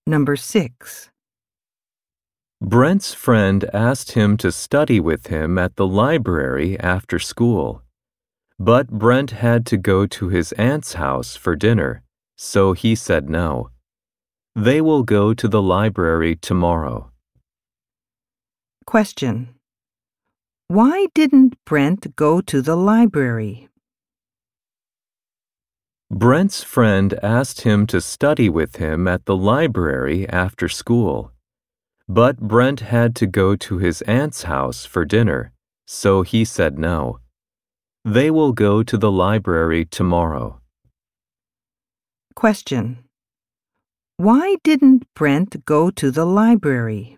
Number 6. Brent's friend asked him to study with him at the library after school. But Brent had to go to his aunt's house for dinner, so he said no. They will go to the library tomorrow. Question. Why didn't Brent go to the library? Brent's friend asked him to study with him at the library after school. But Brent had to go to his aunt's house for dinner, so he said no. They will go to the library tomorrow. Question. Why didn't Brent go to the library?